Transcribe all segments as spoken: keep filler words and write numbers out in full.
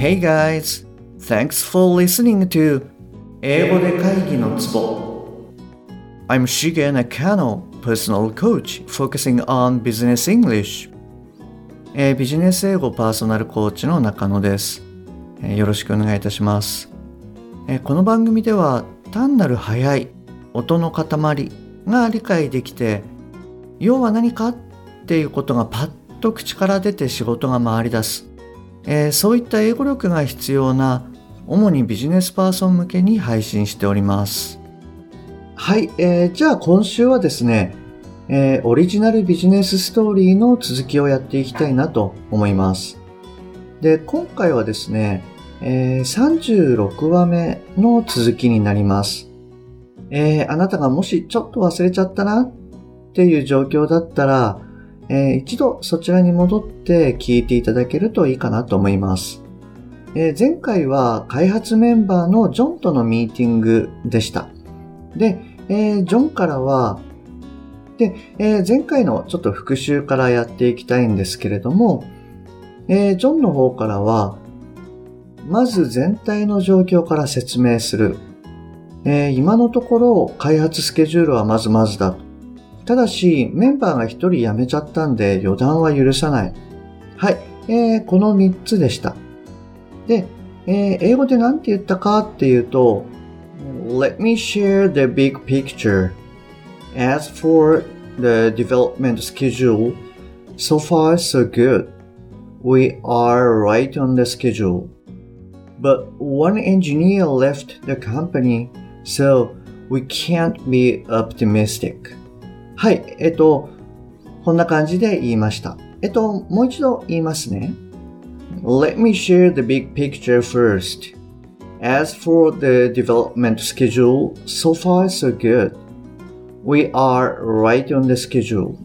Hey guys, thanks for listening to 英語で会議のツボ I'm Shige Nakano, personal coach focusing on business English、えー、ビジネス英語パーソナルコーチの中野です、えー、よろしくお願いいたします、えー、この番組では単なる速い音の塊が理解できて、要は何かっていうことがパッと口から出て仕事が回り出す、えー、そういった英語力が必要な主にビジネスパーソン向けに配信しております。はい、えー、じゃあ今週はですね、えー、オリジナルビジネスストーリーの続きをやっていきたいなと思います。で、今回はですね、えー、さんじゅうろくわめの続きになります。えー、あなたがもしちょっと忘れちゃったなっていう状況だったら、えー、一度そちらに戻って聞いていただけるといいかなと思います。えー、前回は開発メンバーのジョンとのミーティングでした。で、えー、ジョンからは、で、えー、前回のちょっと復習からやっていきたいんですけれども、えー、ジョンの方からは、まず全体の状況から説明する。えー、今のところ開発スケジュールはまずまずだ。ただし、メンバーが一人辞めちゃったんで予断は許さない。はい、えー、このみっつでした。で、えー、英語で何て言ったかっていうと、Let me share the big picture. As for the development schedule, so far so good. We are right on the schedule. But one engineer left the company, so we can't be optimistic. はい、えっと、こんな感じで言いました。えっと、もう一度言いますね。Let me share the big picture first. As for the development schedule, so far so good. We are right on the schedule.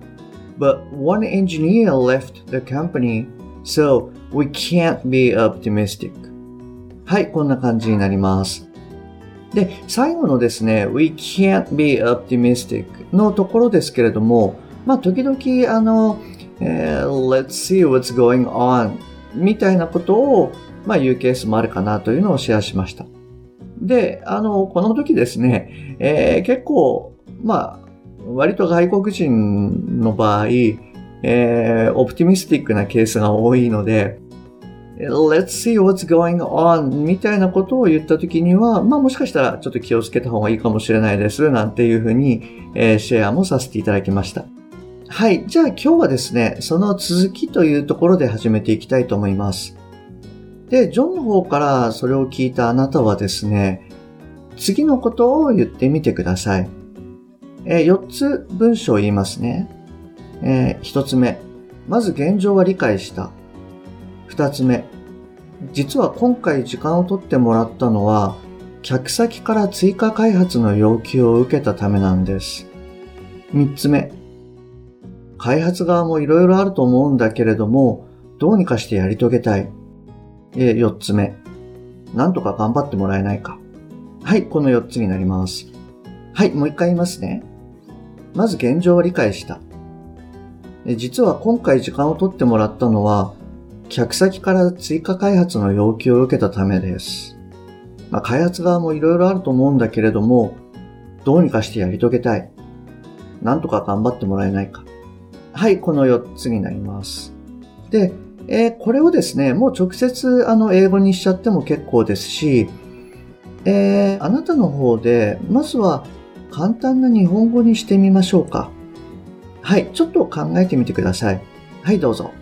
But one engineer left the company, so we can't be optimistic. はい、こんな感じになります。で、最後のですね、We can't be optimistic のところですけれども、まあ、時々、あの、えー、Let's see what's going on みたいなことを、まあ、言うケースもあるかなというのをシェアしました。で、あの、この時ですね、えー、結構、まあ、割と外国人の場合、えー、オプティミスティックなケースが多いので、Let's see what's going on みたいなことを言ったときには、まあもしかしたらちょっと気をつけた方がいいかもしれないですなんていうふうに、えー、シェアもさせていただきました。はい。じゃあ今日はですね、その続きというところで始めていきたいと思います。で、ジョンの方からそれを聞いたあなたはですね、次のことを言ってみてください。えー、よっつ文章を言いますね。えー、ひとつめ、まず現状は理解した。二つ目、実は今回時間を取ってもらったのは、客先から追加開発の要求を受けたためなんです。三つ目、開発側もいろいろあると思うんだけれども、どうにかしてやり遂げたい。え、四つ目、なんとか頑張ってもらえないか。はい、この四つになります。はい、もう一回言いますね。まず現状を理解した。実は今回時間を取ってもらったのは、客先から追加開発の要求を受けたためです。まあ、開発側もいろいろあると思うんだけれども、どうにかしてやり遂げたい。なんとか頑張ってもらえないか。はい、このよっつになります。で、えー、これをですね、もう直接あの英語にしちゃっても結構ですし、えー、あなたの方で、まずは簡単な日本語にしてみましょうか。はい、ちょっと考えてみてください。はい、どうぞ。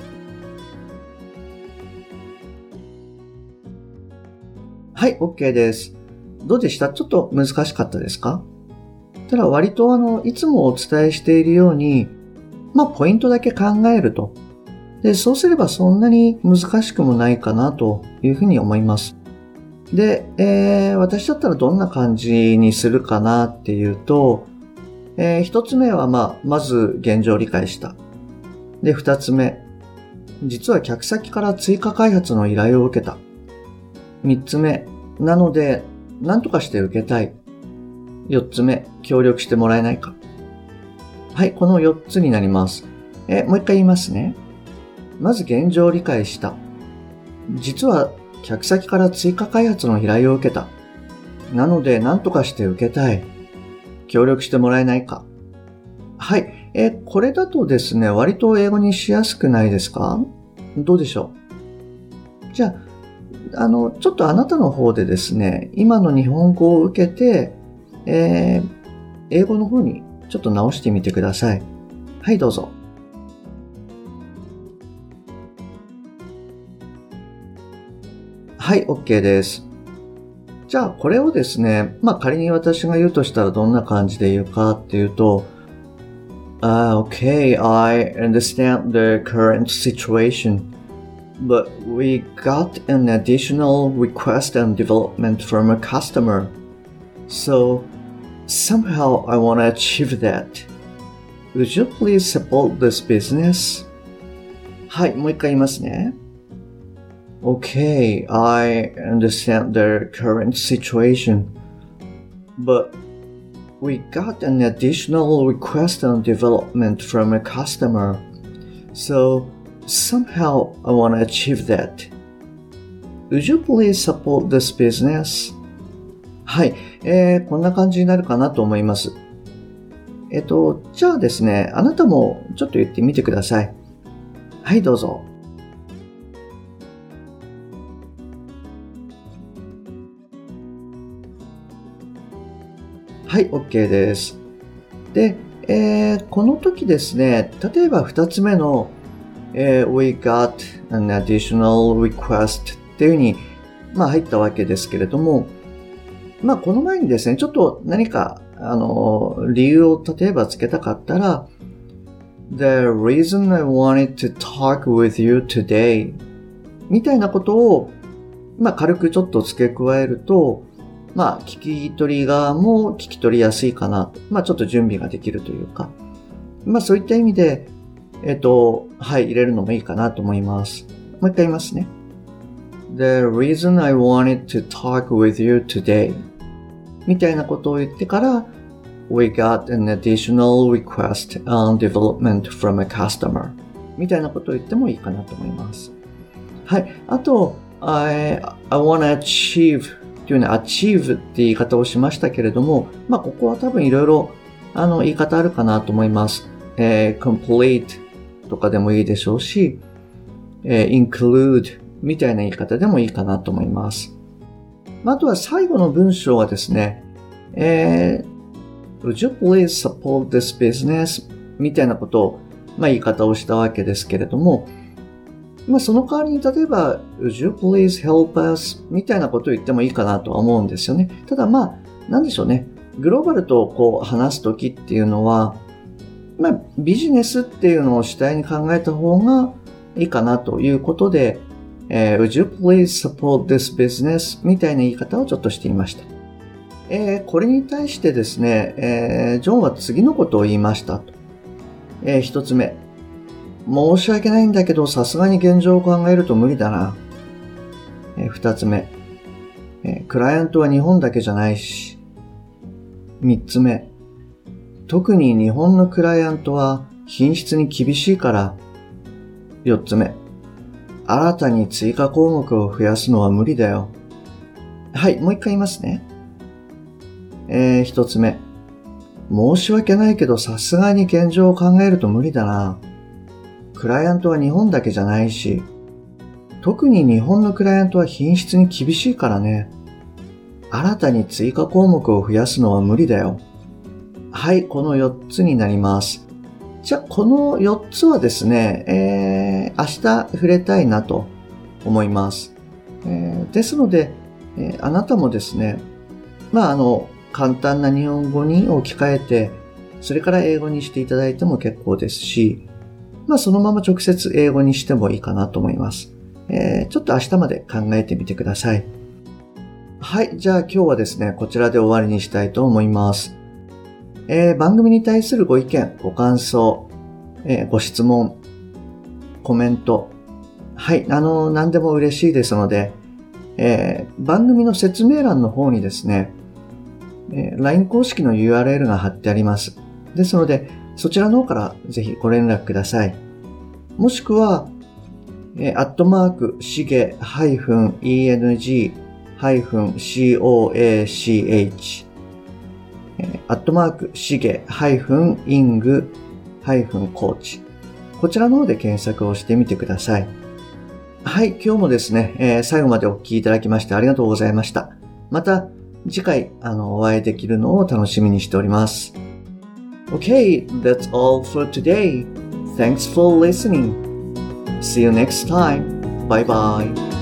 はい、OK です。どうでした？ちょっと難しかったですか？ただ割とあの、いつもお伝えしているように、まあ、ポイントだけ考えると。で、そうすればそんなに難しくもないかなというふうに思います。で、えー、私だったらどんな感じにするかなっていうと、えー、一つ目はまあ、まず現状を理解した。で、二つ目、実は客先から追加開発の依頼を受けた。三つ目、なので、何とかして受けたい。四つ目、協力してもらえないか。はい、このよっつになります。え、もう一回言いますね。まず現状を理解した。 実は客先から追加開発の依頼を受けた。なので何とかして受けたい。協力してもらえないか。はい。えー、これだとですね、割と英語にしやすくないですか？どうでしょう？じゃあ、あの、ちょっとあなたの方でですね、今の日本語を受けて、えー、英語の方にちょっと直してみてください。はい、どうぞ。はい、OK です。じゃあ、これをですね、まあ仮に私が言うとしたらどんな感じで言うかっていうと、Uh, okay, I understand the current situation, but we got an additional request and development from a customer. So somehow I want to achieve that. Would you please support this business? はい、もう一回言いますね。Okay, I understand the current situation, but we got an additional request on development from a customer. So somehow I want to achieve that. Would you please support this business? はい、えー、こんな感じになるかなと思います。えっと、じゃあですね、あなたもちょっと言ってみてください。はい、どうぞ。はい、OK です。で、えー、この時ですね、例えば二つ目の、えー、We got an additional request っていう風に、まあ入ったわけですけれども、まあこの前にですね、ちょっと何か、あの、理由を例えばつけたかったら、The reason I wanted to talk with you today みたいなことを、まあ軽くちょっと付け加えると、まあ、聞き取り側も聞き取りやすいかな。まあ、ちょっと準備ができるというか。まあ、そういった意味で、えっと、はい、入れるのもいいかなと思います。もう一回言いますね。The reason I wanted to talk with you today みたいなことを言ってから、We got an additional request on development from a customer みたいなことを言ってもいいかなと思います。はい。あと、I, I wanna achieveというね、achieve って言い方をしましたけれども、まあ、ここは多分いろいろ、あの、言い方あるかなと思います。えー、complete とかでもいいでしょうし、えー、include みたいな言い方でもいいかなと思います。あとは最後の文章はですね、えー、Would you please support this business? みたいなことを、まあ、言い方をしたわけですけれども、まあ、その代わりに例えば Would you please help us? みたいなことを言ってもいいかなとは思うんですよね。ただまあ、なんでしょうね。グローバルとこう話すときっていうのは、まあ、ビジネスっていうのを主体に考えた方がいいかなということで、えー、Would you please support this business? みたいな言い方をちょっとしていました。えー、これに対してですね、えー、ジョンは次のことを言いましたと。えー、一つ目。申し訳ないんだけど、さすがに現状を考えると無理だな。えー、二つ目、えー。クライアントは日本だけじゃないし。三つ目。特に日本のクライアントは品質に厳しいから。四つ目。新たに追加項目を増やすのは無理だよ。はい、もう一回言いますね。えー、一つ目。申し訳ないけど、さすがに現状を考えると無理だな。クライアントは日本だけじゃないし、特に日本のクライアントは品質に厳しいからね。新たに追加項目を増やすのは無理だよ。はい、このよっつになります。じゃあ、このよっつはですね、えー、明日触れたいなと思います。えー、ですので、えー、あなたもですね、まあ、あの、簡単な日本語に置き換えて、それから英語にしていただいても結構ですし、まあそのまま直接英語にしてもいいかなと思います。えー、ちょっと明日まで考えてみてください。はい、じゃあ今日はですね、こちらで終わりにしたいと思います。えー、番組に対するご意見、ご感想、えー、ご質問、コメント、はい、あの、何でも嬉しいですので、えー、番組の説明欄の方にですね、えー、ライン 公式の ユーアールエル が貼ってあります。ですので、そちらの方からぜひご連絡ください。もしくは、 えー、アットマーク、しげ -eng-coach、アットマーク、しげ -ing-coach。こちらの方で検索をしてみてください。はい、今日もですね、えー、最後までお聞きいただきましてありがとうございました。また次回あのお会いできるのを楽しみにしております。Okay, that's all for today. Thanks for listening. See you next time. Bye bye.